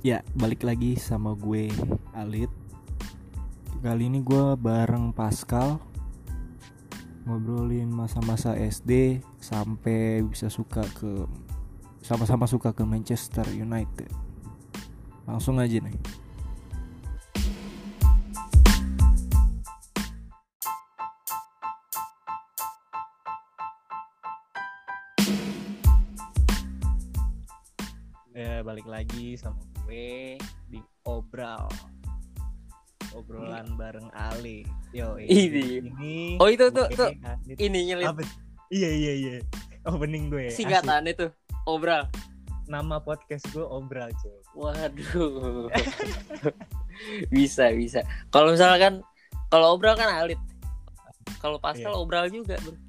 Ya, balik lagi sama gue Alit. Kali ini gue bareng Pascal ngobrolin masa-masa SD sampai bisa sama-sama suka ke Manchester United. Langsung aja nih. Ya, balik lagi sama gue di obrolan bareng Ali. Yo, ini. Oh itu tuh ini nyelip. Iya. Opening gue. Singkatan itu Obral. Nama podcast gue Obral, cuy. Waduh. bisa. Kalau misalkan Obral kan Alit. Kalau Pascal Obral juga, Bro.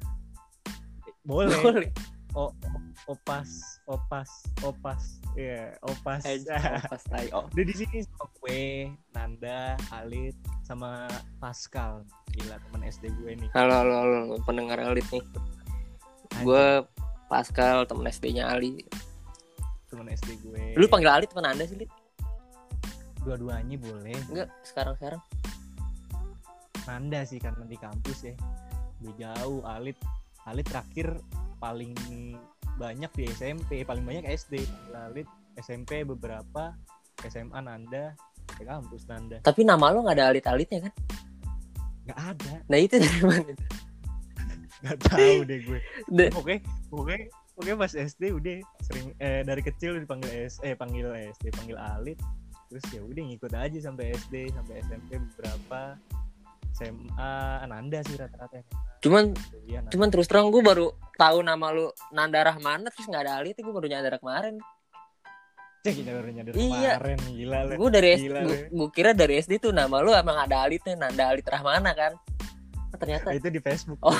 Boleh. Opas. Iya, Opas. Opas tai. Oh. Udah di sini sama gue, Nanda, Alit, sama Pascal. Gila, teman SD gue nih. Halo pendengar Alit nih. Gue Pascal, teman SD-nya Ali. Teman SD gue. Lu panggil Alit teman Anda sih, Lit? Dua-duanya boleh. Enggak, sekarang. Nanda sih karena di kampus ya. Udah jauh. Alit terakhir paling banyak di SMP, paling banyak SD. Alit SMP beberapa, SMA Nanda, ke kampus Nanda. Tapi nama lo nggak ada Alit-Alitnya kan? Nggak ada. Nah itu dari mana? Nggak tahu deh gue. Oke pas SD udah sering dari kecil panggil Alit. Terus ya udah ngikut aja sampai SD, sampai SMP beberapa. SMA Nanda sih rata-rata. Cuman terus terang gue baru tahu nama lu Nanda Rahmana, terus nggak ada Alit, gue baru nyadar kemarin. Kita baru nyadar kemarin, gila lu. Gue dari SD, gue kira dari SD tuh nama lu emang ada Alitnya, Nanda Alit Rahmana kan. Ternyata itu di Facebook. Oh.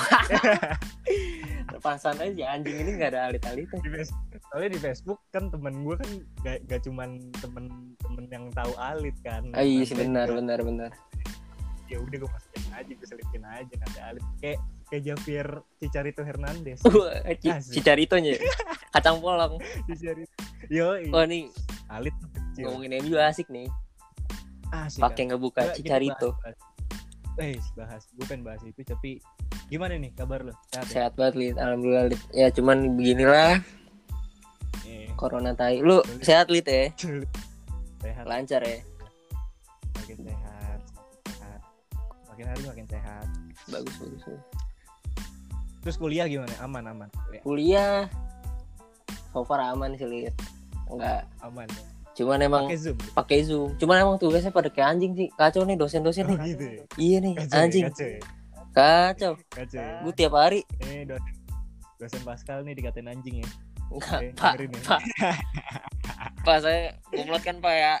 Pasan aja anjing ini nggak ada Alit-Alitnya. Soalnya di Facebook kan temen gue kan gak cuman temen yang tahu Alit kan. Iya sih benar. Ya udah gue masukin aja, gue selipin aja Nanda Alit kayak Javier Chicharito Hernandez. Chicharitonya kacang polong. Yo. Oh nih Alit ngomongin MU asik nih. Pakai ngebuka Chicharito. Bahas. Gue pengen bahas itu, tapi gimana nih kabar lo? Sehat banget, Lid. Alhamdulillah, Lid. Ya cuman beginilah. Corona tai. Lu sehat, Lid ya? Sehat. Lancar ya? Makin sehat. Makin hari makin sehat. Bagus. Terus kuliah gimana? Aman. Kuliah so far aman sih, Lid. Enggak aman. Cuman emang pakai Zoom. Cuman emang tugasnya pada kayak anjing sih. Kacau nih dosen-dosen nih. Gitu. Iya nih, anjing. Kacau. Gue tiap hari. Dosen Pascal nih dikatain anjing ya. Enggak, Pak. Pak saya gomlot kan, Pak ya.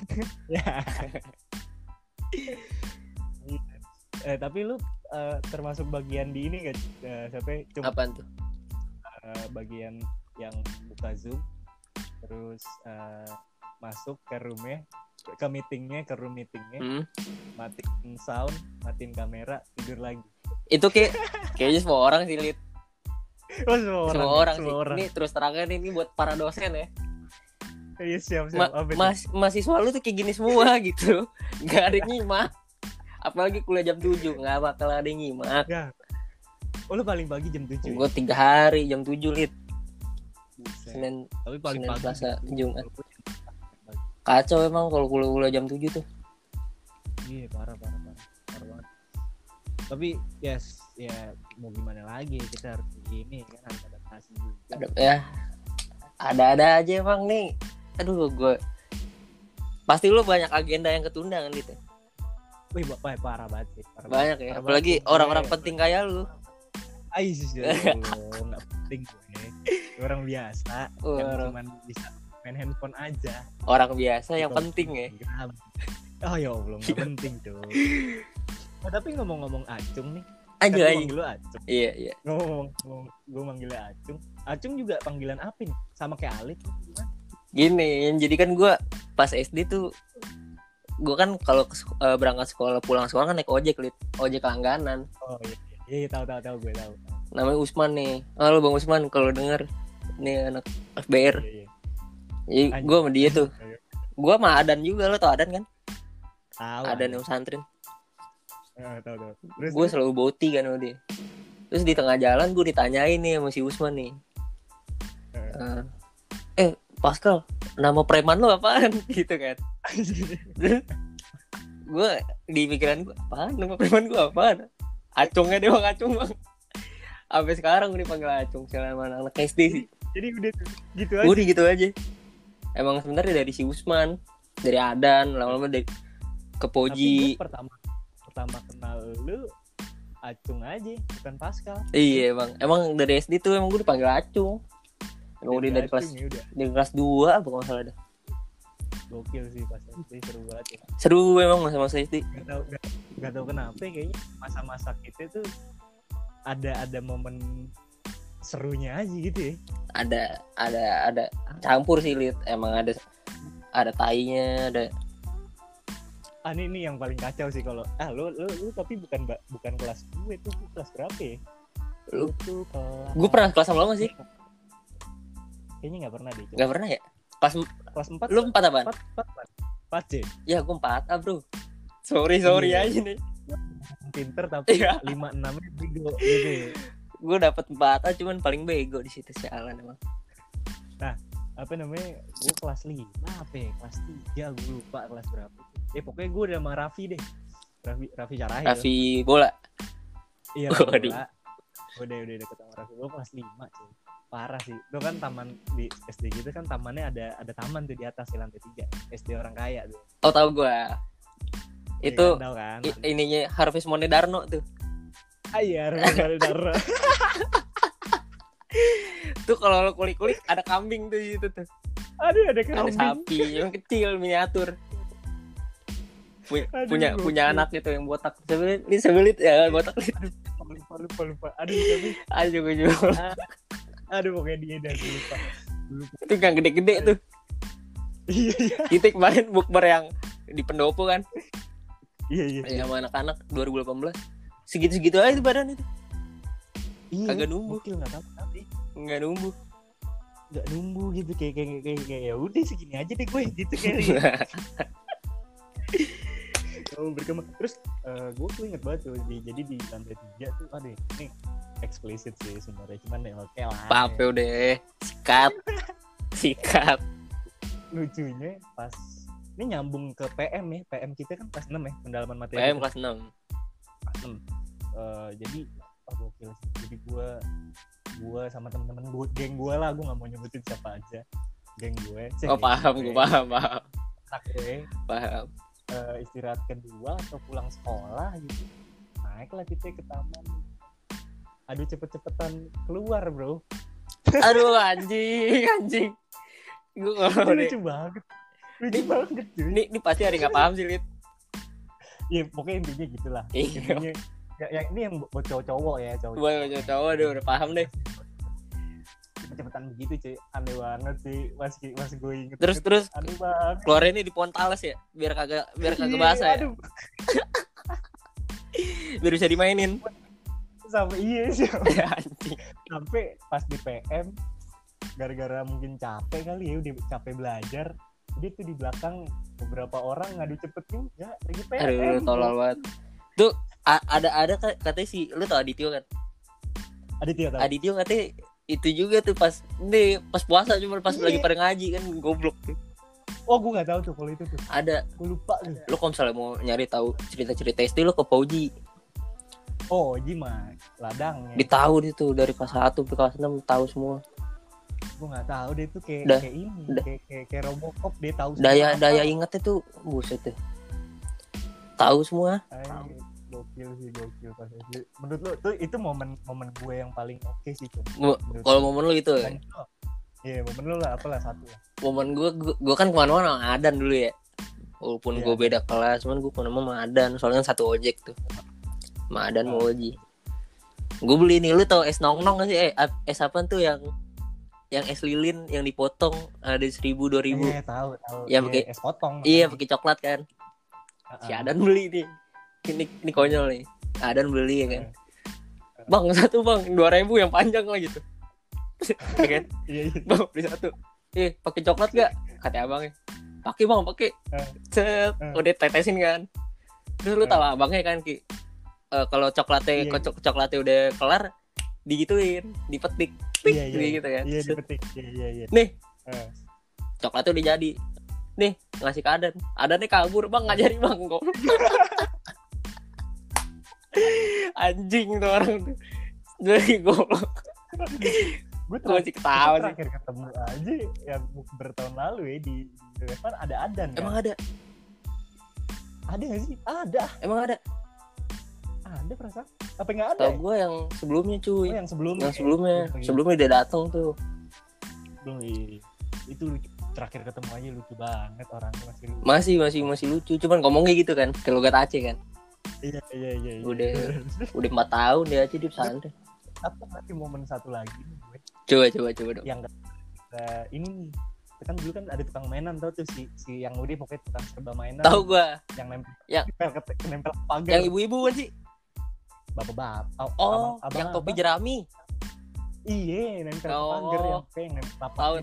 Tapi lu termasuk bagian di ini gak? Sampai apaan tuh? Bagian yang buka Zoom terus masuk ke room meetingnya, matiin sound, matiin kamera, tidur lagi. Itu kayaknya semua orang sih, Lid. Oh, semua orang sih. Ini terus terangkan ini buat para dosen ya. Iya, siap. Mahasiswa lu tuh kayak gini semua gitu. Gak ada nyimak. Apalagi kuliah jam 7, gak bakal ada yang nyimak. Ya. Oh, lu paling pagi jam 7? Gue 3 hari jam 7, Lid. Senin, Selasa, Jumat. Kacau emang kalau kuliah jam 7 tuh. Iya, parah banget. Tapi ya mau gimana lagi, kita harus begini kan, harus adaptasi juga. Ada aja emang nih. Aduh, gue pasti lu banyak agenda yang ketunda kan gitu. Wih, parah banget sih. Banyak ya, apalagi orang-orang penting kayak lu. Sih, nggak penting gue. Orang biasa yang cuma bisa main handphone aja. Orang biasa yang penting ya. Oh ya Allah, nggak penting tuh. Tapi ngomong-ngomong Acung nih. Anjing lu Acung. Iya. Ngomong gue manggilnya Acung. Acung juga panggilan apa nih? Sama kayak Alit gimana? Gini, jadi kan gue pas SD tuh gue kan kalau berangkat sekolah, pulang sekolah kan naik ojek langganan. Oh iya, tahu gue tahu. Namanya Usman nih. Halo Bang Usman, kalau denger nih anak FBR. Iya. Jadi gue sama dia tuh Gua sama Adan juga, lo tau Adan kan? Tahu. Adan yang pesantren. Tahu. Gue selalu boti kan sama dia. Terus di tengah jalan gue ditanyain nih sama si Usman nih. Pascal, nama preman lo apaan? Gitu kan. Gue di pikiran gue, apaan nama preman gue apaan? Acungnya dia bang, Acung bang. Sampai sekarang gue dipanggil Acung selama anak SD sih. Jadi udah gitu aja. Udah gitu aja. Emang sebenarnya dari si Usman, dari Adan, lama-lama dari ke Poji. Tapi pertama kenal lu Acung aja, bukan Pascal. Iya bang, emang dari SD tuh emang gue dipanggil Acung. Emang udah dari kelas ya dari kelas 2 apa nggak salah dah. Gokil sih pas SD, seru banget ya. Seru emang masa-masa SD. Gak tau kenapa kayaknya masa-masa kita tuh ada momen serunya aja gitu ya. Ada campur sih Lid. Emang ada tainya, ada. Ini yang paling kacau sih kalau lu tapi bukan kelas gue tuh, kelas berapa ya? Lu tuh kelas. Gue pernah kelas sama lo gak sih? Kayaknya enggak pernah deh. Enggak pernah ya? Kelas 4. Lu 4 apaan? 4 C. Ya gue 4A bro. Sorry aja nih. Pinter tapi 5-6 bego gitu. Gue dapet 4A cuman paling bego di situ sialan emang. Nah, apa namanya? Gue kelas 5 apa ya? Kelas 3 gue lupa kelas berapa. Pokoknya gue udah sama Raffi deh. Raffi Carahil. Raffi bola. Iya, bola. Udah deket sama Raffi. Gue kelas 5 cuy. Parah sih. Itu kan taman di SD gitu kan, tamannya ada taman tuh di atas di lantai 3. SD orang kaya tuh. Oh, tahu gue. Itu kan? Ininya Harvest Mone Darno tuh. Iya, Harvest Mone Darno. Tuh kalau lo kulik-kulik ada kambing tuh di situ tuh. Aduh, ada kambing. Ada sapi yang kecil miniatur. Punya anak gitu yang botak. Sebelit ya botak. Lupa. Aduh gue juga. Aduh pokoknya dia dah lupa. Itu yang gede-gede tuh. Iya. Kita kemarin bukber yang di Pendopo kan. Iya. Sama anak-anak 2018. Segitu-segitu aja tuh badan itu. Iya. Kagak numbuh. Enggak tahu tapi. Enggak numbuh gitu kayak ya udah segini aja deh gue gitu kayak. Berkembang. Terus gue tuh inget banget tuh jadi di lantai 3 tuh ada ini eksplisit sih sebenarnya cuman ya oke lah. Pape udah sikat. Lucunya pas ini nyambung ke PM ya. PM kita kan kelas 6 ya, pendalaman materi. PM kelas 6. Jadi gokil sih. Jadi gue sama teman-teman gue, geng gue lah, gue nggak mau nyebutin siapa aja. Geng gue. Paham. Anak gue. Paham. Istirahat kedua atau pulang sekolah gitu. Naiklah kita ke taman. Aduh cepet-cepetan keluar bro. Aduh anjing. Gue lucu banget cuy. Ini pasti ada nggak paham sih Lid. Iya pokoknya intinya gitulah. Intinya ya ini yang buat cowok-cowok ya cowok. Buat cowok udah paham deh. Cepet-cepetan begitu cuy, aneh banget sih, masih gue inget. Terus aneh banget. Keluarnya ini di pohon talas ya, biar kagak basah ya. Biar bisa dimainin. Sampai pas di PM gara-gara mungkin capek kali ya, udah capek belajar, dia tuh di belakang beberapa orang ngadu cepet juga lagi PM. Aduh tolol banget. Tuh ada katanya sih, lu tau Adityo kan? Adityo katanya itu juga tuh pas puasa cuma pas lagi pada ngaji kan, goblok tuh. Oh gue nggak tahu tuh kalau itu tuh. Ada. Gue lupa tuh. Lo kalau misalnya mau nyari tahu cerita-cerita SD lo ke Poji. Oh Poji mah ladang ya. Ditahu dia tuh dari kelas 1 sampai kelas 6 tahu semua. Gue nggak tahu deh tuh kayak ini kayak Robocop dia tahu. Daya ingatnya tuh buset deh. Tahu semua. Gokil pas SD. Menurut lo tuh itu momen gue yang paling oke sih tuh. Kalau momen lo gitu ya? Iya momen lo lah apalah satu lah. Momen gue kan kemana-mana sama Adan dulu ya. Walaupun gue beda kelas, cuman gue kemana-mana sama Adan. Soalnya kan satu ojek tuh. Sama Adan mau Oji. Gue beli nih, lu tau es nong-nong gak sih? Es apa tuh yang es lilin yang dipotong ada 1.000-2.000. Tahu. Yang pakai es potong. Iya pakai coklat kan. Si Adan beli nih. Ini konyol nih. Adan beli ya kan. Bang satu bang 2.000 yang panjang lah gitu. Ya kan? Iya. Bang beli satu. Pakai coklat gak? Kata abangnya. pakai bang, pakai. Set, udah tetesin kan. Terus lu tahu abangnya kan Ki, kalau coklatnya coklatnya udah kelar, digituin, dipetik, gitu kan. Iya dipetik, iya. Nih, coklatnya udah jadi. Nih, ngasih ke Adannya kabur bang, ngajari bang kok. Anjing tuh orang tuh. Jadi goblok. Gue terakhir ketemu aja yang bertahun lalu ya di Revan ada Adan. Emang kan? Ada nggak sih? Ada. Emang ada? Ada perasaan? Apa nggak ada? Tahu gue yang sebelumnya cuy. Yang sebelumnya. Sebelumnya dia datang tuh. Belum. Itu lucu. Terakhir ketemu aja lucu banget orangnya masih lucu. Cuman ngomongnya gitu kan. Kalau gak Aceh kan. Iya. Udah 4 tahun dia Aceh di pesantren. Apa nanti momen satu lagi nih gue? Coba dong. Yang ini nih. Kan dulu kan ada tukang mainan tau tuh si yang udah pokoknya tukang serba mainan. Tahu gua. Yang nempel nempel pagar. Yang ibu-ibu kan sih? Bapak-bapak. Abang, yang topi jerami. Iya, nempel pagar yang kayak nempel papak. Tahu.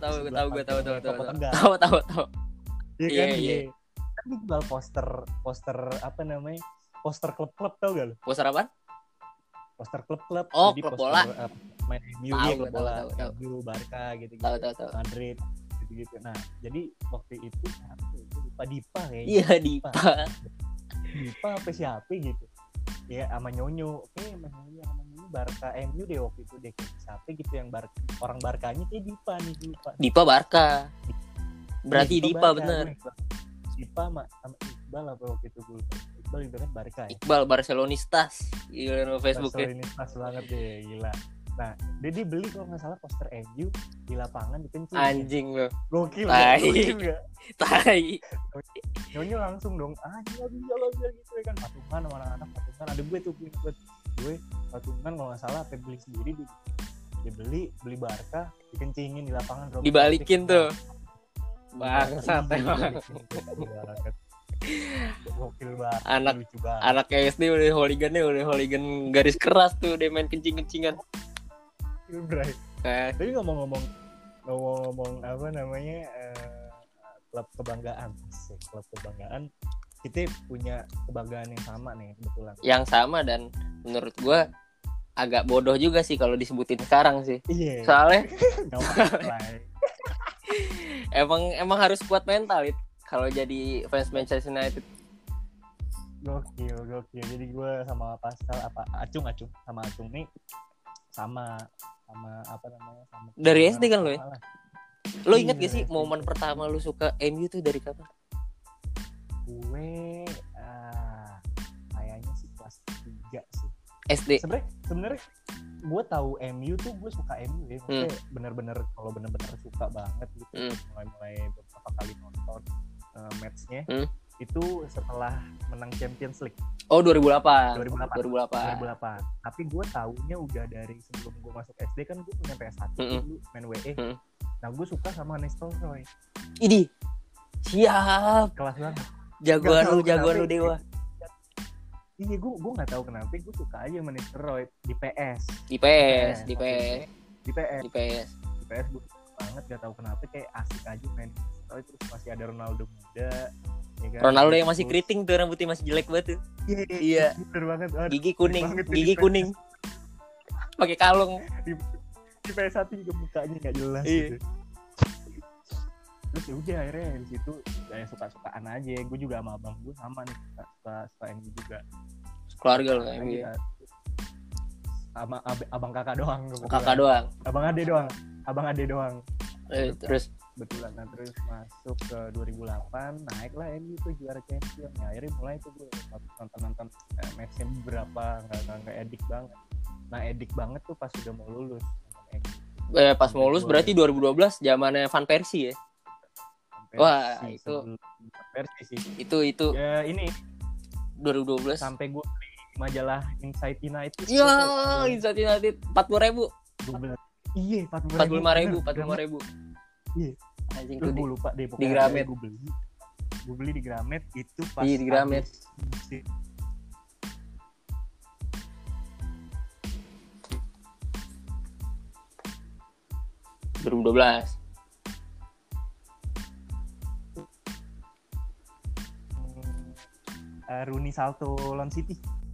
Iya kan? Iya. Kan jual poster apa namanya? Poster klub-klub tau gak lu? Poster apa? Poster klub-klub. Oh, jadi klub bola. Main MU klub bola. MU, Barca gitu-gitu. Tahu. Madrid gitu. Nah, jadi waktu itu lupa Dipa kayaknya. Iya, Dipa apa siapa gitu. Ya sama Nyonyo. Sama Nyonyo Barca MU deh waktu itu deh. Siapa gitu yang orang Barkanya kayak Dipa nih, lupa. Dipa Barca. Berarti Dipa bener. Dipa sama Iqbal apa waktu itu gue. Iqbal itu kan Barca ya. Iqbal Barcelonistas. Gila Facebooknya. Barcelonistas banget deh, gila. Nah, dia beli kalau nggak salah poster MU di lapangan dikencing. Anjing lo. Gokil nggak? Tai. Nyonyo langsung dong. Nggak bisa gitu ya kan. Patungan sama anak-anak patungan. Ada gue patungan kalau nggak salah apa beli sendiri dia beli Barca dikencingin di lapangan. Dibalikin tuh. Bangsat emang. Gokil banget. Anak SD udah hooligan garis keras tuh, dia main kencing-kencingan. Bray. Tapi ngomong apa namanya klub kebanggaan. Klub kebanggaan kita punya kebanggaan yang sama nih kebetulan. Yang sama dan menurut gua agak bodoh juga sih kalau disebutin sekarang sih. Iya. Soalnya emang harus kuat mental itu kalau jadi fans Manchester United. Gokil. Jadi gue sama Pascal Acung sama Acung nih sama apa namanya sama dari SD kan lo ya? Lo inget gak sih momen pertama lo suka MU tuh dari kapan? Gue kayaknya sih kelas 3 sih. SD. Sebenarnya gue tahu MU tuh gue suka MU ya. Maksudnya bener-bener suka banget gitu. Mulai beberapa kali nonton matchnya itu setelah menang Champions League. Oh 2008. Tapi gue taunya udah dari sebelum gue masuk SD kan gue punya PS1 dulu main WE. Nah gue suka sama Nistelrooy. Idi. Siap. Kelas banget. Jagoan lu dewa. Iya gue nggak tahu kenapa gue suka aja sama Nistelrooy di PS. Di PS gue banget, gak tahu kenapa kayak asik aja main Nistelrooy, terus masih ada Ronaldo muda. Ya kan? Ronaldo yang masih keriting tuh, rambutnya masih jelek banget tuh. Iya. Bener banget. Gigi kuning. Pakai kalung. Di PS1 juga mukanya nggak jelas. Iya. Gitu. Terus ya udah akhirnya di situ kayak suka-sukaan aja. Gue juga sama abang gue sama nih suka MU juga. Keluarga lo MU. Sama abang kakak doang. Abang ade doang. Terus betulan terus masuk ke 2008 naiklah MU tuh juara champion. Nah, akhirnya mulai tuh gue nonton matchnya beberapa nggak edik banget. Nah edik banget tuh pas udah mau lulus. Pas mau lulus berarti 2012 zamannya Van Persie ya. Wah itu Persie sih. Itu. Ya ini 2012 sampai gue beli majalah Inside United. Ya Inside United 40.000. Iya 45.000. Iya. Anjing tuh gue lupa deh di Gramet. Gue beli di Gramet itu pas di Gramet. 2012. Rooney salto lawan City.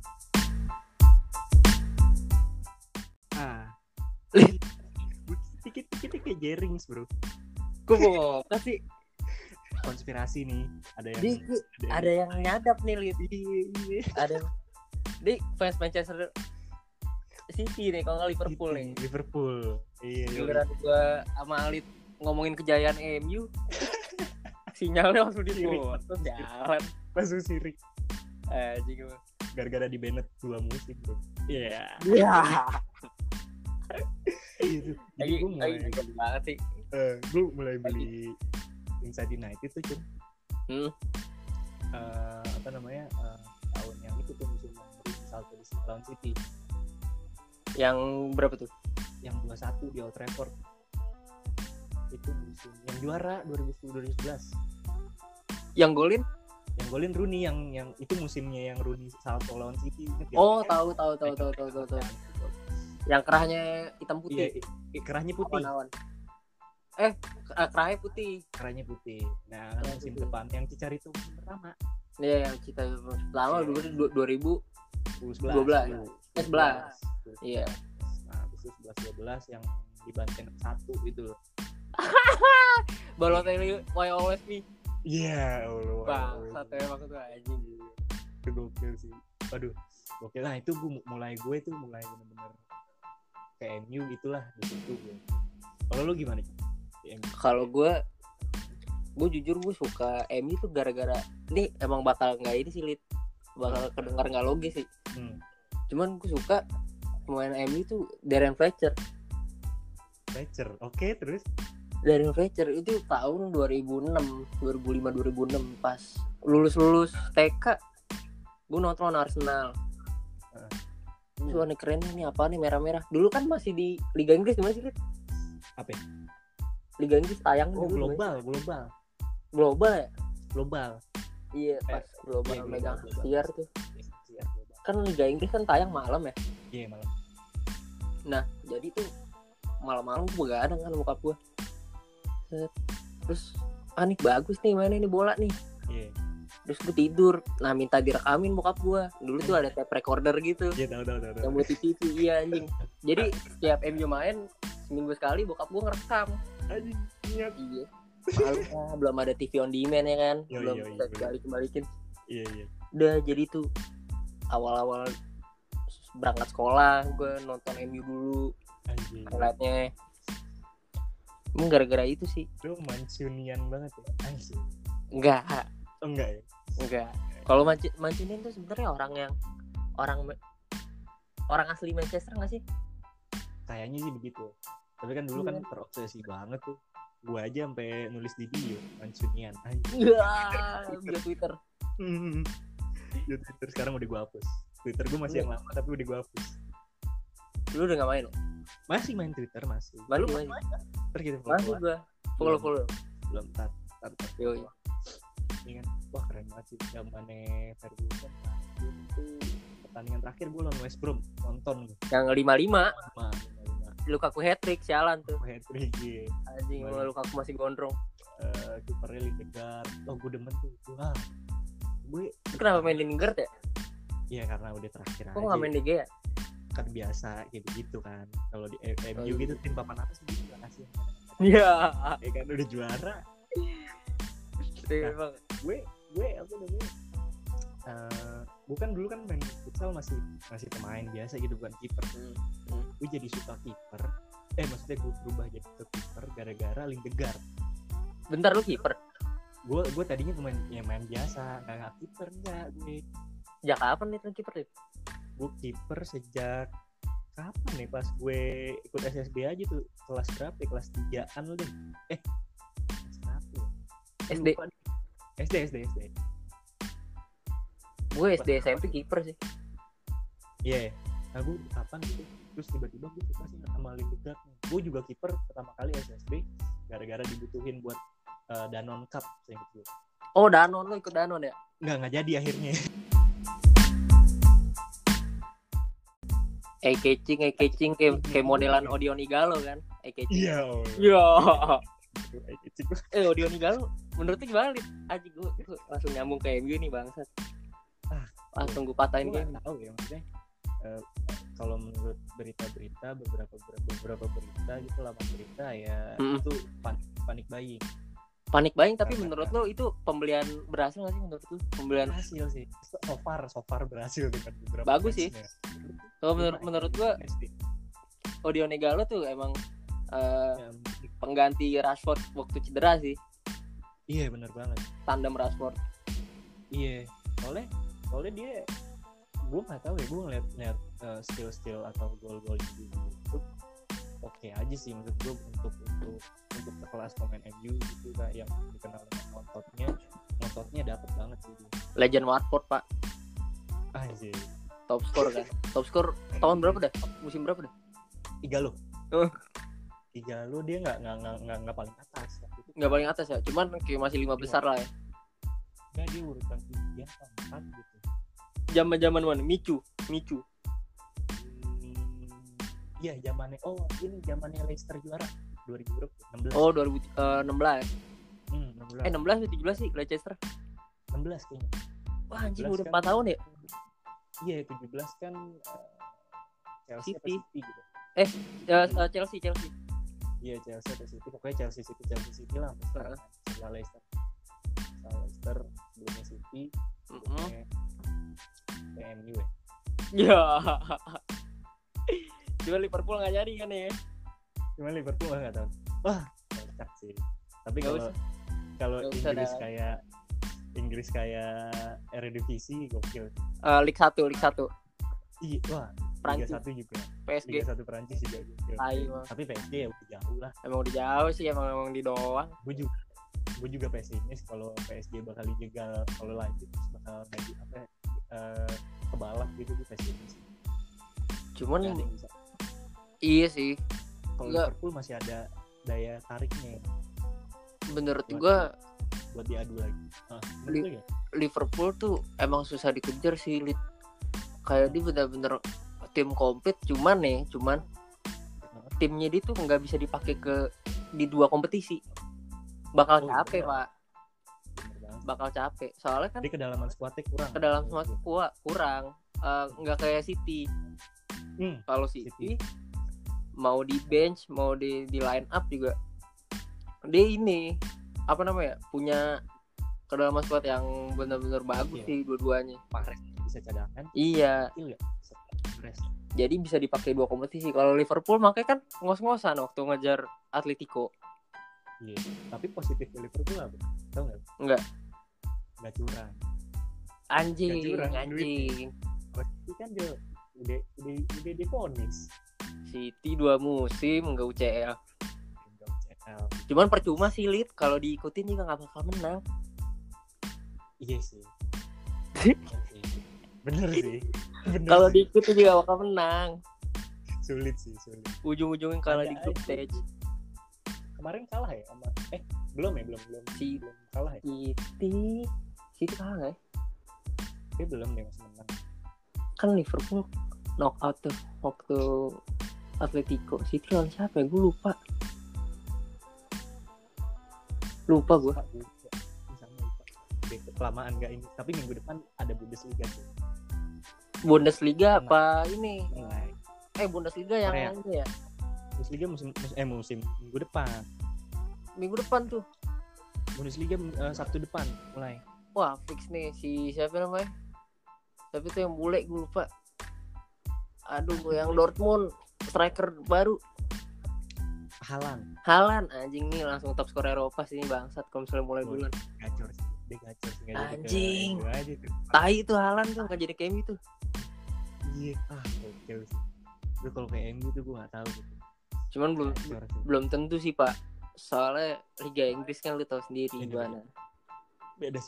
Dikit-dikit kayak Jerings, bro. Gue mau kasih konspirasi nih. Ada yang nyadap nih, Lid. Ada di fans Manchester City nih, kalau nggak Liverpool nih. Liverpool. Iya. Giliran gue sama Alit ngomongin kejayaan MU, sinyalnya langsung terus jalan. Langsung sirik. Juga. Gara-gara di Bennett 2 musim, bro. Iya. Gitu. Jadi gue mulai banget sih. Gue mulai beli Inside United tuh Cun. Tahun yang itu tuh musim salto di lawan City. Yang berapa tuh? Yang 2-1 di Old Trafford. Itu musim yang juara 2010-2011. Yang golin Rooney yang itu musimnya yang Rooney salto lawan City. Oh, tahu. Yang kerahnya hitam putih. Iya, kerahnya putih. Awan-awan. Kerahnya putih. Nah, musim depan yang Cicar itu musim pertama. Iya, yang kita pertama dulu 2012. 11. Iya. Nah, habis itu 11-12 yang dibanting 1 itu. Balotelli why always me. Iya, Allah. Satu emang tuh anjing. Itu gokil sih. Aduh, gokil. Nah, itu gue mulai benar-benar ke MU gitulah di situ gue. Kalau lu gimana? Kalau gue jujur gue suka MU tuh gara-gara ini emang bakal nggak ini sih, Lid. Bakal kedengar nggak logis sih. Cuman gue suka pemain MU tuh Darren Fletcher. Oke, terus Darren Fletcher itu tahun 2005 2006 pas lulus TK gue nonton Arsenal. Wah, ini keren nih, apa nih merah-merah. Dulu kan masih di Liga Inggris gimana sih, Lid? Apa? Liga Inggris tayang dulu. Global ya? Global. Iya, pas global megang siar tuh. Kan Liga Inggris kan tayang malam ya? Iya, malam. Nah, jadi tuh malam-malam gue begadang kan bokap gue. Terus nih bagus nih mainnya nih bola nih. Iya. Terus gue tidur, nah minta direkamin bokap gue. Dulu tuh ada tape recorder gitu. Iya, tahu. Yang buat TV, iya anjing. Jadi setiap MU main seminggu sekali bokap gue ngerekam. Anjing, iya. Malu lah, belum ada TV on demand ya kan. Belum bisa balikin. Iya. Udah jadi tuh awal-awal berangkat sekolah gue nonton MU dulu. Anjing. Highlightnya. Emang gara-gara itu sih. Lu Mancunian banget ya? Anjing. Enggak ya? Enggak. Kalau Mancunian tuh sebenarnya orang asli Manchester nggak sih? Kayaknya sih begitu. Tapi kan dulu kan terobsesi banget tuh. Gue aja sampai nulis di bio Mancunian. Bio Twitter. Bio Twitter sekarang udah gue hapus. Twitter gue masih yang lama tapi udah gue hapus. Lu udah nggak main lo? Masih main Twitter masih. Baru main. Ntar kita masih gue follow. Belum tar. Yo. Ini kan wah keren banget sih zamannya Ferguson. Itu pertandingan terakhir gue lawan West Brom nonton gue. Yang 5-5. Lukaku hat-trick sialan tuh. Hat-trick iya. Anjing Lukaku masih gondrong. Kipernya Lingard. Oh gue demen tuh. Wah. Gue kenapa main Lingard ya? Iya karena udah terakhir aja. Kok nggak main DG ya? Kan biasa kayak begitu kan. Kalau di MU gitu tim papan atas gitu kan kasih. Iya. Kan udah juara. Nah, gue apa namanya? Bukan dulu kan main futsal masih pemain biasa gitu bukan kiper. Gue jadi suka kiper. Maksudnya gue berubah jadi kiper gara-gara Lingard. Bentar lu kiper? Gue tadinya main biasa, nggak kiper enggak gue. Sejak kapan nih kiper itu? Gue kiper sejak kapan nih pas gue ikut SSB aja tuh kelas berapa ya? Kelas 3-an lu deh. Kelas berapa ya? SD. Gue SD SMP kiper sih. Iya. Nah gue kapan gitu terus tiba-tiba gue suka sih sama Lingard. Gue juga kiper pertama kali SSB gara-gara dibutuhin buat Danone Cup saya gitu. Oh Danone, lo ikut Danone ya? Nggak jadi akhirnya. Eye-catching kayak modelan Odion Igalo kan? Eye-catching. Iya. Odion Igalo menurut lu gimana, Lid? Aji gue langsung nyambung ke MU nih bangsat. langsung gue patahin gue game. nggak tahu ya maksudnya. Kalau menurut berita-berita beberapa berita gitu, laman berita ya itu panik buying. Panik buying, tapi menurut lo itu pembelian berhasil nggak sih menurut lo? Pembelian berhasil sih. So far berhasil dengan beberapa. Bagus sih. Kalau menurut gua Odione Galo tuh emang pengganti Rashford waktu cedera sih. Iya benar banget. Tandem Rashford. Iya. Soalnya dia, gue nggak tahu ya, gue ngeliat skill atau gol-gol di YouTube oke aja sih menurut gue untuk sekelas pemain MU gitu kan, yang dikenal dengan ngototnya dapet banget sih dia. Legend Watford pak. Anjir. Top skor kan. Top skor tahun berapa dah? Musim berapa dah? 3 lo. 3 lo dia nggak paling atas. Nggak paling atas ya, cuman kayak masih 5 besar lah ya. Nggak, dia urutan 3 atau 4 gitu. Zaman mana? Michu. Iya, zamannya. Oh, ini zamannya Leicester juara 2016. Oh, 2016. 16. 16 atau 17 sih Leicester? 16 kayaknya. Wah, anjing udah 4 tahun ya? Iya, 17 kan Chelsea City. Atau City gitu. Chelsea. Iya, Chelsea atau City. Pokoknya Chelsea City lah. Setelah Leicester. Sebelumnya City. Sebelumnya MU ya. Ya. Cuma Liverpool nggak jadi kan ya? Cuma Liverpool nggak tahu. Wah, kocak sih. Tapi kalau Inggris kayak Eredivisie gokil. Liga 1. Iya, wah. Prancis. Liga 1 juga. PSG. Liga 1 Prancis juga gokil. Tapi PSG ya udah jauh lah. Emang udah jauh sih, emang di doang. Gue juga pesimis kalau PSG bakal dijegal kalau lanjut, bakal ke balap gitu, gue pesimis. Cuman iya sih. Kalau Liverpool masih ada daya tariknya. Menurut gua buat diadu lagi. Liverpool tuh emang susah dikejar sih, kayak dia bener-bener tim komplit, cuman timnya dia tuh nggak bisa dipakai di 2 kompetisi. Bakal capek pak. Bakal capek. Soalnya kan di kedalaman skuadnya kurang. Nggak kayak City. Kalau City mau di bench, mau di line up juga, dia ini punya kedalaman squad yang benar-benar bagus sih dua-duanya. Mahrez bisa cadangan. Iya. Jadi bisa dipakai 2 kompetisi. Kalau Liverpool makanya kan ngos-ngosan waktu ngejar Atletico. Iya. Tapi positif Liverpool apa? Tahu nggak? Nggak curang. Anjing. Pasti kan dia udah divonis. City 2 musim nggak UCL. Cuman percuma sih kalau diikutin juga nggak bakal menang. Iya sih. Bener sih. Kalau diikutin juga bakal menang. Sulit. Ujung-ujungnya kalah di grup stage. Kemarin kalah ya sama belum kalah ya. City kalah ya. Dia belum deh, masih menang. Kan Liverpool knockout tuh waktu Atletico. City lawan siapa ya? Gue lupa gue. Kelamaan gak ini. Tapi minggu depan ada Bundesliga tuh. Bundesliga apa ini? Bundesliga yang Korea. ini ya. Bundesliga musim minggu depan. Minggu depan tuh. Bundesliga Sabtu depan mulai. Wah, fix nih si siapa namanya? Tapi tuh yang bule gue lupa. Aduh, yang Dortmund striker baru. Haaland anjing nih langsung top skor Eropa sih bangsat kalau misalnya mulai bulan. Gacor sih. Dia gacor sih. Anjing. Tai tuh Haaland tuh enggak jadi kayak MU tuh. Iya, gokil sih. Gue kalau kayak MU tuh gue enggak tahu gitu. Cuman belum tentu sih, Pak. Soalnya Liga Inggris kan lu tahu sendiri gimana. Beda.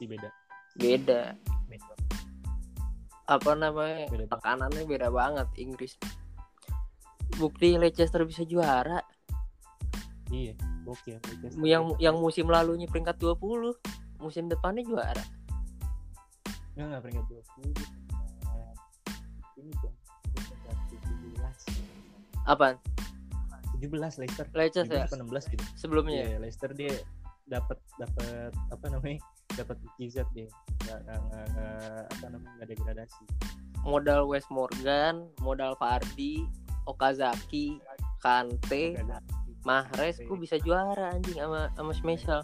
Tekanannya beda banget Inggris. Bukti Leicester bisa juara. Iya, gokil. Yang musim lalunya peringkat 20, musim depannya juara. Enggak peringkat 20. Ini dong, peringkat 17. Apaan? 17 Leicester ya? 16 gitu. Sebelumnya Leicester dia dapat dapat mukjizat dia. nggak degradasi. Modal Wes Morgan, modal Vardy, Okazaki, Kante, Mahrez, gue bisa juara anjing sama Schmeichel.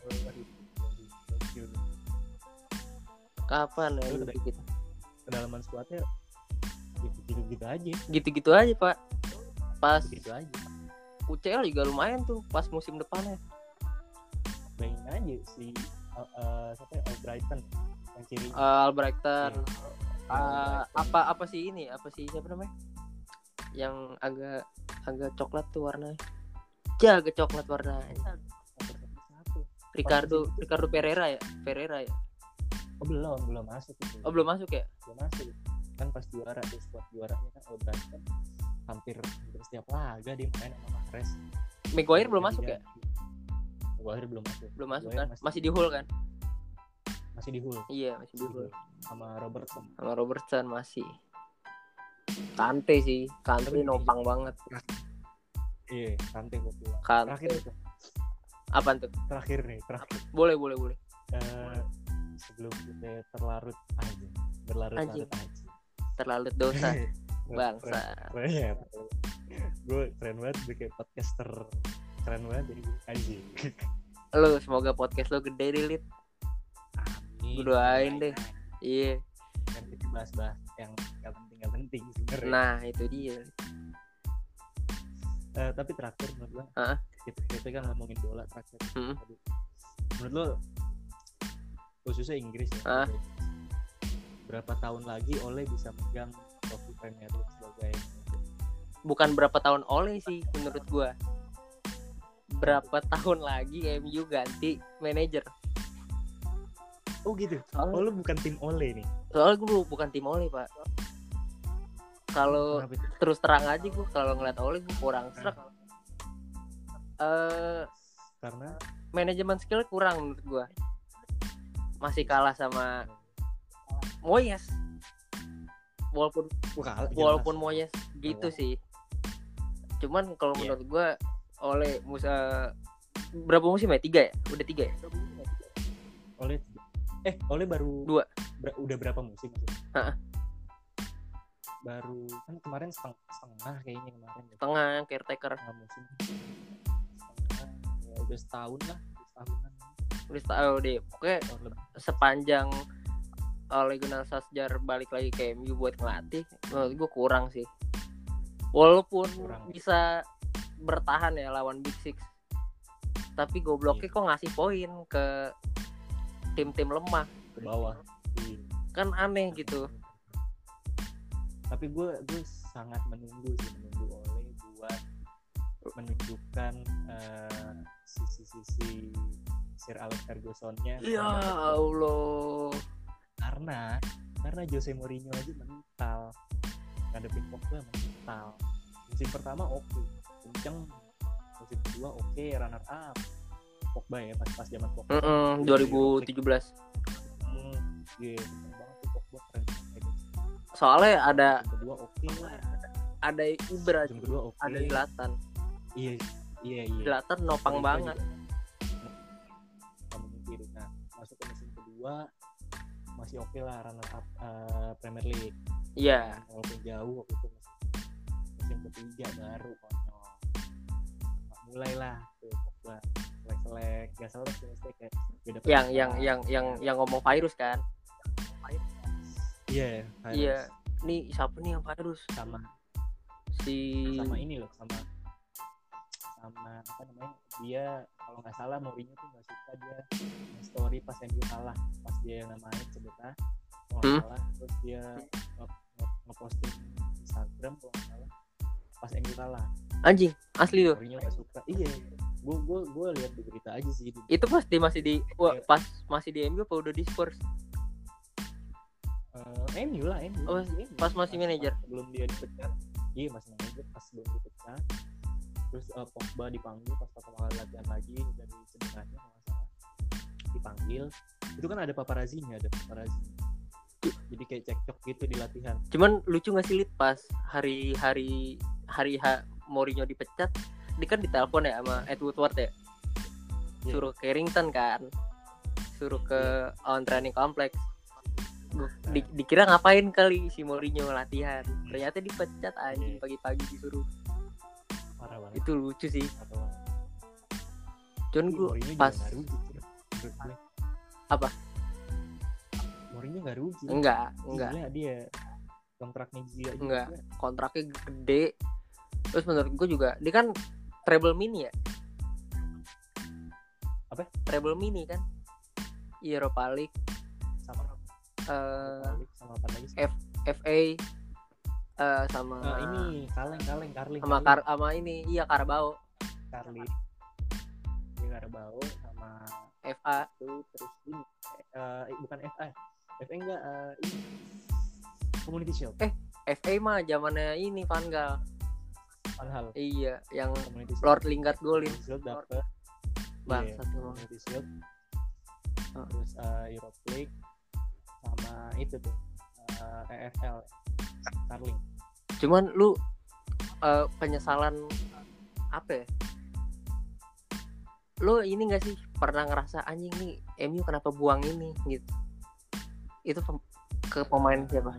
Kapan ya gitu? Kedalaman squadnya gitu-gitu aja. Gitu-gitu aja, Pak. Pas gitu aja. UCL juga lumayan tuh pas musim depannya. Bayangin aja si siapa ya, Albrighton yang kiri. Albrighton. Apa sih ini? Apa sih siapa namanya? Yang agak coklat tuh warnanya. Agak coklat warnanya. Ricardo Pereira ya? Oh, belum masuk itu. Oh, belum masuk ya? Belum masuk. Kan pas juara tuh squad juaranya kan Albrighton hampir setiap laga dia main sama Mahrez. Maguire belum masuk ya? Maguire belum masuk. Belum masuk kan? Masih di Hull kan? Masih di Hull. Iya, masih di Hull. Sama Robertson masih. Kante nopang banget. Iya, Kante gua bilang. Terakhir itu. Apaan tuh? Terakhir. Boleh. Sebelum kita berlarut-larut aja. Terlalu dosa. Bangsa. Gue keren banget bikin podcaster. Keren banget jadi anjing. Lu semoga podcast lu gede deh, Lit. Amin. Gue doain deh. Iya. Kan kita bahas-bahas yang gak penting sebenarnya. Nah, itu dia. Tapi terakhir menurut gue kita kan ngomongin bola terakhir. Menurut lo khususnya Inggris ya, berapa tahun lagi Ole bisa megang trofi Premier League sebagai, bukan berapa tahun Ole sih menurut gue, berapa tahun lagi MU ganti manajer. Oh gitu. Lo bukan tim Ole nih? Soalnya gue bukan tim Ole, Pak. Kalau terus terang aja gue kalau ngeliat Ole gue kurang serak. Karena manajemen skill kurang menurut gue. Masih kalah sama Moyes. Walaupun Moyes gitu sih. Cuman kalau menurut gue Ole berapa musim ya? 3 ya? Udah 3 ya? Ole baru 2. Udah berapa musim? Baru kan kemarin setengah kayaknya kemarin. Setengah caretaker. Setengah musim. Ya udah setahun lah, setahunan. Udah setahun deh. Pokoknya sepanjang Ole Gunnar Solskjaer balik lagi ke MU buat ngelatih, menurut gue kurang sih. Walaupun bisa bertahan ya lawan Big Six, tapi gobloknya kok ngasih poin ke tim-tim lemah ke bawah. Kan aneh gitu. Tapi gue sangat menunggu Ole buat menunjukkan sisi-sisi Sir Alex Ferguson-nya. Ya Allah. Karena Jose Mourinho aja mental ngadepin Pogba mental. Musim pertama oke, kenceng. Musim kedua oke, runner up Pogba ya pas zaman Pogba. 2017. Iya, kenceng banget tuh Pogba, keren. Soalnya ada kedua oke lah. Ada Ibra, ada Zlatan. Iya. Zlatan nopang banget. Nah, masuk ke musim kedua masih oke lah, runner up Premier League. Iya. Walaupun jauh waktu itu musim ketiga baru konyol. Mulailah tuh Pogba selek, gak salah sih kayak beda. Yang ngomong virus kan? Iya. Iya. Nih siapa nih yang virus? Sama ini loh, sama apa namanya, dia kalau nggak salah Mourinho tuh nggak suka dia story pas MU kalah, pas dia main cedera kalau nggak salah, terus dia ngeposting Instagram kalau nggak salah pas MU kalah. Anjing, asli loh. Mourinho nggak suka. Iya, gue lihat di berita aja sih gitu. Itu pasti masih di pas masih di MU apa udah di Spurs? MU lah. Oh, pas masih manajer. Belum dia dipecat. Iya, masih manajer pas belum dipecat. Terus Pogba dipanggil pas pertama kali latihan lagi dari cederanya kalau nggak salah, dipanggil. Itu kan ada paparazzi. Jadi kayak cekcok gitu di latihan. Cuman lucu nggak sih, Lit, pas hari Mourinho dipecat, dia kan ditelepon ya sama Ed Woodward ya, suruh Carrington kan, suruh ke on training complex. Dikira ngapain kali si Mourinho latihan, ternyata dipecat anjing pagi-pagi disuruh. Parah banget. Itu lucu sih. Cuman gue pas apa? Mourinho nggak rugi. Enggak. Gila dia kontraknya gila. Enggak, kontraknya gede. Terus menurut gue juga dia kan treble mini ya. Apa? Treble mini kan. Europa League sama apa lagi sih? FA sama ini Carling sama ini Carabao. Carling Carabao sama FA itu terus ini bukan FA enggak ini Community Shield. FA mah zamannya ini Van Gaal. Iya, yang Lord Lingard golin. Dapet bangsat Community Shield. Terus Europa League sama itu tuh EFL Carling. Cuman lu penyesalan apa ya? Lu ini gak sih pernah ngerasa anjing nih MU kenapa buang ini gitu? Itu ke pemain siapa?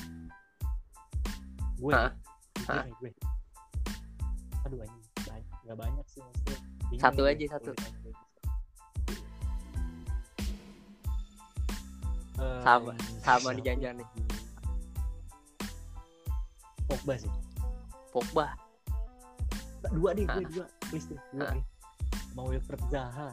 Gue. Aduh anjing, nggak banyak sih maksudnya. Satu aja. Sama dijanjian nih. Pogba. Dua please deh. Mau Wilfried Zaha.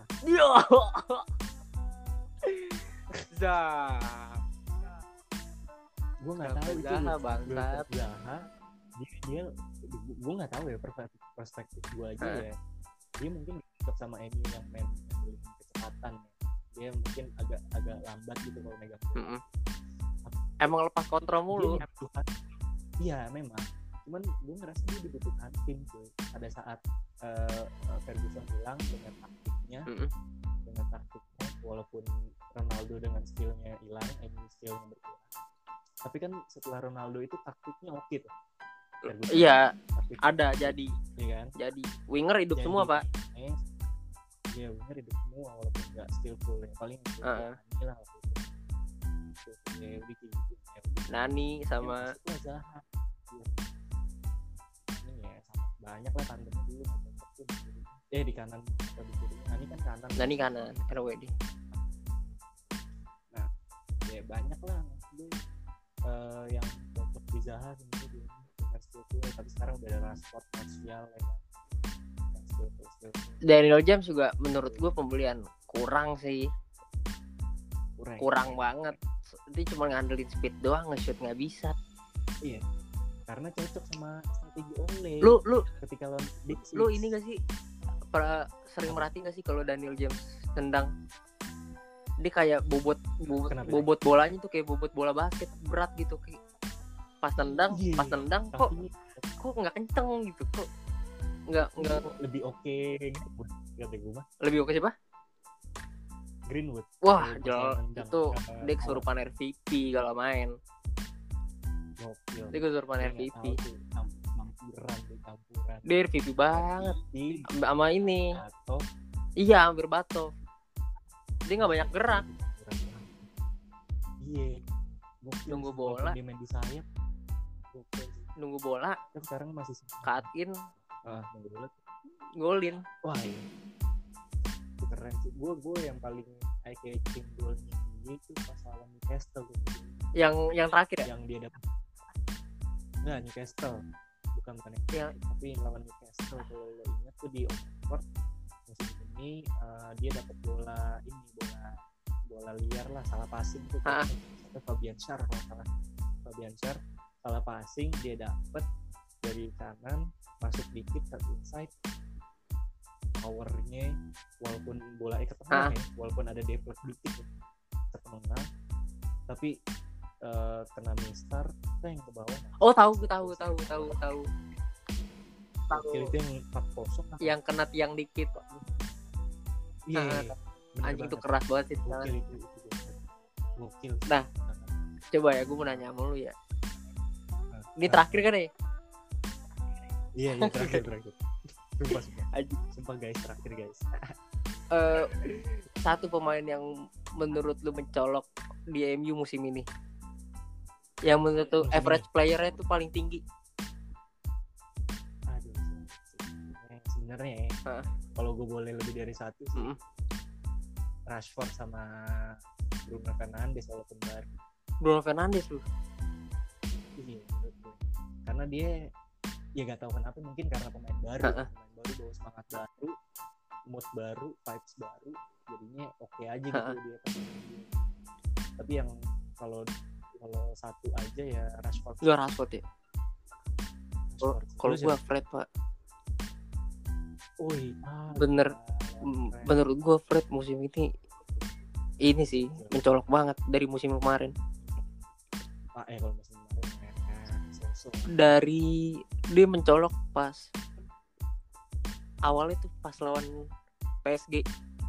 Gue nggak tahu itu bangsat. Zaha dia gue nggak tahu ya perspektif gue aja ya. Dia mungkin dekat sama MU yang main kecepatan ya. Dia mungkin agak lambat gitu kalau megang bola. Emang lepas kontrol mulu. Iya memang. Cuman gue ngerasa dia dibutuhkan tim tuh. Pada saat Ferguson hilang dengan taktiknya, walaupun Ronaldo dengan skillnya hilang, MU skillnya berkurang. Tapi kan setelah Ronaldo itu taktiknya oke tuh. Iya, ada jadi. Iya kan? Jadi winger hidup semua, Pak. Iya, winger hidup semua walaupun enggak skillful. Yang paling Nani lah waktu itu. Ya udah gitu. Nani sama Zaha. Ini ya sama banyak lah tandem dulu di kanan atau di kiri. Nani kanan. RWD. Nah, ya banyak lah yang cocok di Zaha sebenarnya dengan skill, tapi sekarang udah ada Rashford, Martial ya kan. Yang skill. Daniel James juga menurut gue pembelian kurang sih. Kurang banget. Dia cuma ngandelin speed doang, nge-shoot nggak bisa. Iya. Karena cocok sama strategi Ole. Lu ketika lawan Big Six. Lu ini nggak sih sering merhatiin nggak sih kalau Daniel James tendang, dia kayak bobot bolanya tuh kayak bobot bola basket berat gitu, kayak pas tendang kok nggak kenceng gitu, kok nggak lebih oke Greenwood kata gue mah. Lebih oke siapa? Greenwood. Wah jelas itu dia kesurupan MVP kalau main. Dia kesurupan MVP. Campuran. Dia MVP banget sama ini. Iya hampir bato. Dia nggak banyak gerak. Iya. Nunggu bola. Dia main di sayap. Nunggu bola. Kan sekarang masih cut in. Nunggu bola. Golin. Wah iya. Itu keren sih. Gue yang paling eye catching golnya dia itu pas lawan Newcastle gitu. Yang terakhir ya? Yang dia dapat. Enggak, Newcastle. Bukan yang tapi lawan Newcastle. Kalau lo ingat tuh di Oxford musim ini dia dapat bola liar lah, salah passing tuh. Fabian Schär salah passing, dia dapat dari kanan masuk dikit ke inside. Powernya walaupun bola ke tengah ya, walaupun ada deflect dikit ya, ke tengah, tapi kena mistar teng ke bawah. Oh tahu. Itu yang 4-0 yang kena tiang dikit. Iya. Anjing itu keras banget sih. Gokil. Nah, coba ya gue mau nanya sama lu ya. Ini terakhir kan ya? Iya terakhir. Sumpah guys, terakhir guys. Satu pemain yang menurut lu mencolok di MU musim ini Yang menurut tuh Musim average playernya itu paling tinggi. Aduh, sebenarnya kalau gue boleh lebih dari satu sih, Rashford sama Bruno Fernandes walaupun baru. Bruno Fernandes lu. Iya, karena dia ya gak tahu kenapa, mungkin karena pemain baru bawa semangat baru, mood baru, vibes baru, jadinya oke aja gitu dia. Tapi yang kalau satu aja ya Rashford. Ya Rashford ya. Kalau gua Fred pak. Bener. Menurut gua Fred musim ini sih mencolok banget dari musim kemarin. Kalau musim kemarin dari dia mencolok pas awalnya tuh pas lawan PSG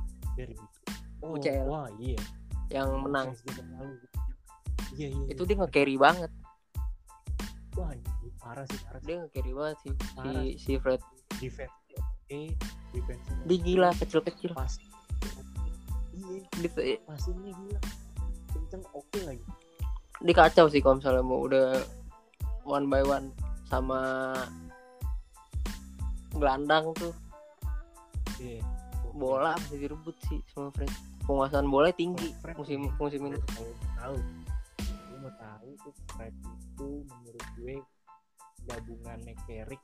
UCL. Wah iya. Yang menang. Iya. Itu dia nge-carry banget. Wah, parah sih. Dia nge-carry banget sih si Fred. Defense. Dia gila kecil-kecil. Pas. Iya. Passingnya gila. Kenceng oke lagi. Dia kacau sih kalau misalnya mau udah one by one sama gelandang tuh. Iya. Bola masih direbut sih sama Fred. Penguasaan bola tinggi musim ini. Gue mau tahu tuh Fred itu menurut gue gabungannya Carrick,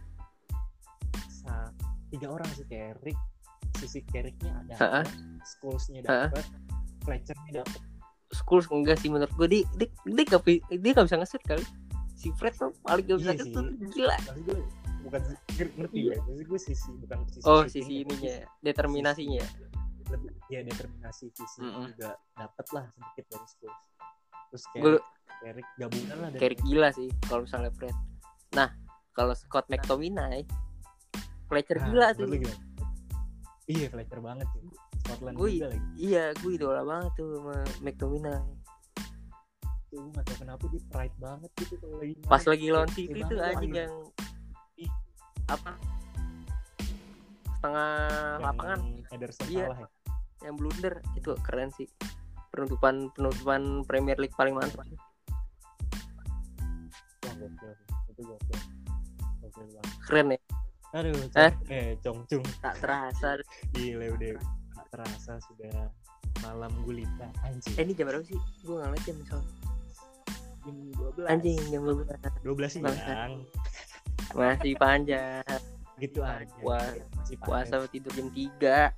3 orang sih, Carrick, sisi Carricknya ada, Scholes-nya dapat, Fletcher-nya dapat. Scholes enggak sih menurut gue, dia gak bisa nge-shoot kali. Si Fred tuh paling gak bisa nge-shoot, gila. Maksud gue bukan ngerti ya, maksud gue bukan sisi ininya, determinasinya. Lebih ya determinasi visi juga dapat lah sedikit dari Scholes. Terus Carrick gabungan lah dari Carrick gila sih kalau misalnya Fred. Nah, kalau Scott McTominay, Fletcher gila tuh. Iya, Fletcher banget sih. Scotland juga lagi. Iya, gue idola banget tuh sama McTominay. Gue gak tau kenapa dia pride banget gitu kalau lagi pas lagi lawan City tuh anjing yang apa setengah lapangan Ederson salah ya. Yang blunder itu keren sih. Penutupan Premier League paling mantap. Wah, gokil. Itu gokil banget. Keren ya. Aduh, Congcung. Tak terasa. Gila udah tak terasa sudah malam gulita anjing. Ini jam berapa sih? Gue enggak lihat jam soalnya. Jam 12. Anjing, jam 12 sih bang. Masih panjang. Gitu aja. Puasa tidur jam 3.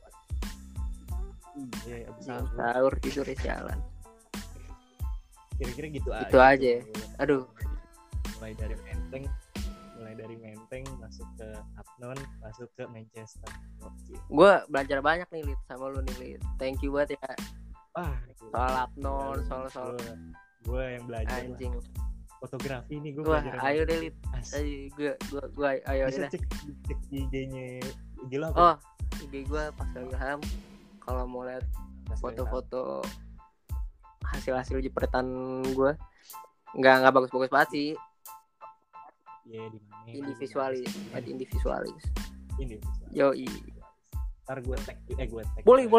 Iya, abis sahur tidur jalan. Kira-kira gitu aja. Itu aja. Aduh. Mulai dari Menteng masuk ke Apnon, masuk ke Manchester. Gue belajar banyak nih Lid sama lu nih Lid. Thank you banget ya. Soal Apnon, soal gue yang belajar. Anjing. Fotografi nih gue belajar. Ayo deh Lid. Gue ayo deh. Bisa cek IG-nya. Gila apa? IG gue Pascal Ilham. Kalau mau lihat foto-foto hasil jepretan gue nggak bagus-bagus banget sih. Iya, di mana? Individualis. Yoi. Ntar gue tag. Boleh.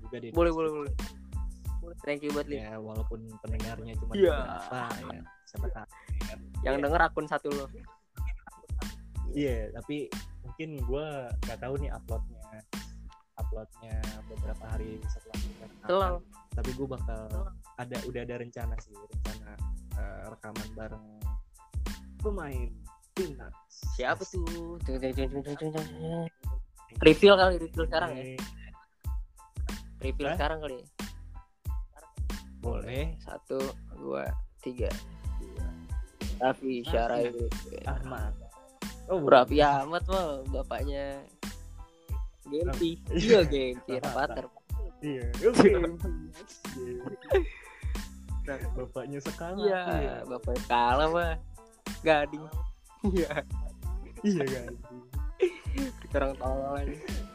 Thank you buat Lid. Ya walaupun pendengarnya cuma berapa ya, siapa tahu. Yang denger akun satu lo. Iya, tapi mungkin gue nggak tahu nih uploadnya beberapa hari setelah tapi gue bakal udah ada rencana rekaman bareng pemain timnas. Siapa tuh? Reveal sekarang ya. Reveal sekarang kali ya. Boleh. 1, 2, 3. Raffi Syarahil Ahmad. Raffi Ahmad mah bapaknya Genpi. Iya Genpi Rapater. Iya. Bapaknya Sekala. Iya, bapaknya Sekala mah Gading. Iya. Iya Gading. Kita orang tolol aja.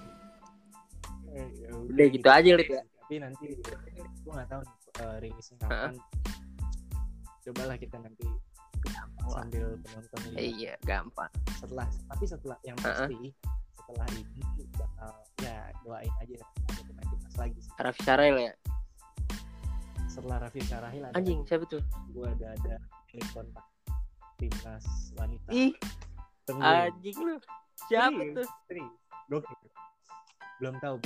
Udah gitu aja Lid ya. Tapi nanti gue nggak tahu rilisnya kapan. Cobalah kita nanti sambil penonton lihat. Iya, gampang. Setelah yang pasti setelah ini bakal ya doain aja ada pemain timnas lagi. Raffi Syarahil ya. Setelah Raffi Syarahil ada anjing siapa tuh? Gue ada kontak timnas wanita. Ih, Tungguin. anjing lu. Siapa tuh? Gokil. Belum tahu.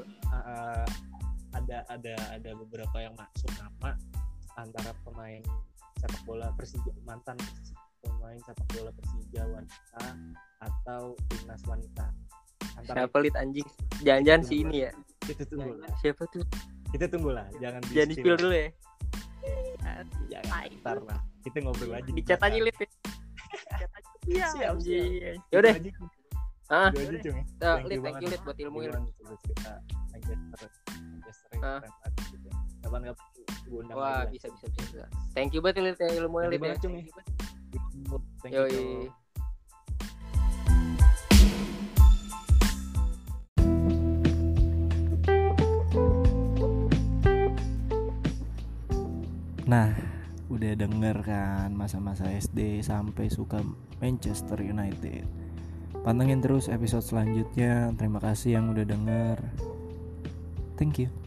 Ada beberapa yang masuk nama antara pemain sepak bola Persija, mantan pemain sepak bola Persija wanita atau timnas wanita. Siapa Lid anjing? Jangan-jangan si ini ya. Kita tunggu lah. Siapa tuh? Kita tunggu lah. Jangan di-spill dulu ya. Jangan. Ntar lah. Kita ngobrol aja. Di chat aja Lid. Iya. Siap. Ya udah. Ah. Itu aja, Cung. Thank you Lid buat ilmu ini. Cerita Manchester gitu. Kapan-kapan gue undang. Wah, bisa. Thank you banget Lid ya ilmunya Lid ya. Thank you. Yoi. Nah, udah denger kan masa-masa SD sampai suka Manchester United. Pantengin terus episode selanjutnya. Terima kasih yang udah denger. Thank you.